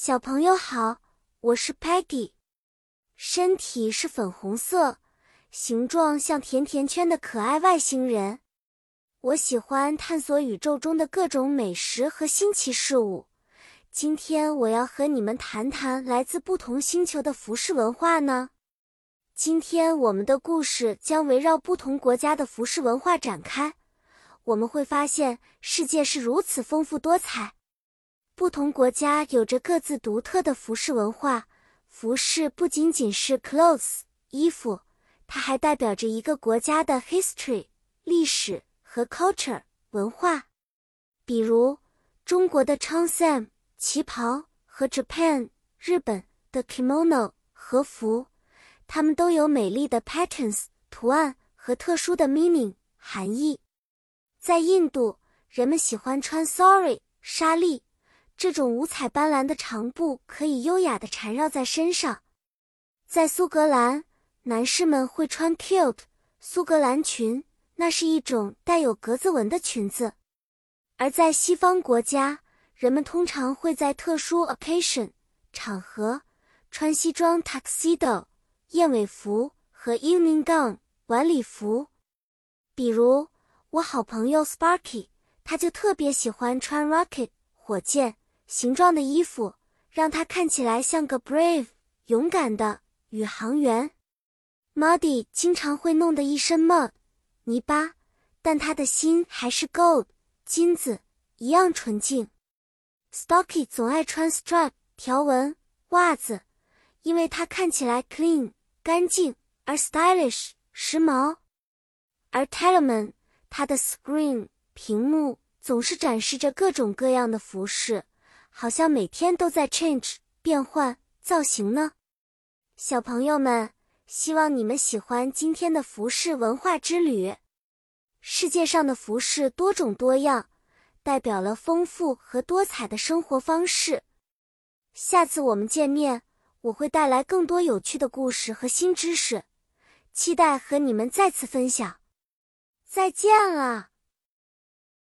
小朋友好，我是 Peggy。身体是粉红色，形状像甜甜圈的可爱外星人。我喜欢探索宇宙中的各种美食和新奇事物。今天我要和你们谈谈来自不同星球的服饰文化呢。今天我们的故事将围绕不同国家的服饰文化展开。我们会发现世界是如此丰富多彩。不同国家有着各自独特的服饰文化，服饰不仅仅是 clothes 衣服，它还代表着一个国家的 history 历史和 culture 文化。比如中国的 cheongsam 旗袍和 Japan 日本的 kimono 和服，它们都有美丽的 patterns 图案和特殊的 meaning 含义。在印度，人们喜欢穿 sari 纱丽，这种五彩斑斓的长布可以优雅地缠绕在身上。在苏格兰，男士们会穿 kilt 苏格兰裙，那是一种带有格子纹的裙子。而在西方国家，人们通常会在特殊 occasion 场合穿西装 tuxedo 燕尾服和 evening gown 晚礼服。比如我好朋友 Sparky， 他就特别喜欢穿 rocket 火箭形状的衣服，让他看起来像个 brave 勇敢的宇航员。Muddy 经常会弄得一身 mud 泥巴，但他的心还是 gold 金子一样纯净。Stocky 总爱穿 strap 条纹袜子，因为它看起来 clean 干净，而 stylish 时髦。而 Telemann 他的 screen 屏幕总是展示着各种各样的服饰，好像每天都在 change 变换造型呢。小朋友们，希望你们喜欢今天的服饰文化之旅。世界上的服饰多种多样，代表了丰富和多彩的生活方式。下次我们见面，我会带来更多有趣的故事和新知识，期待和你们再次分享。再见了。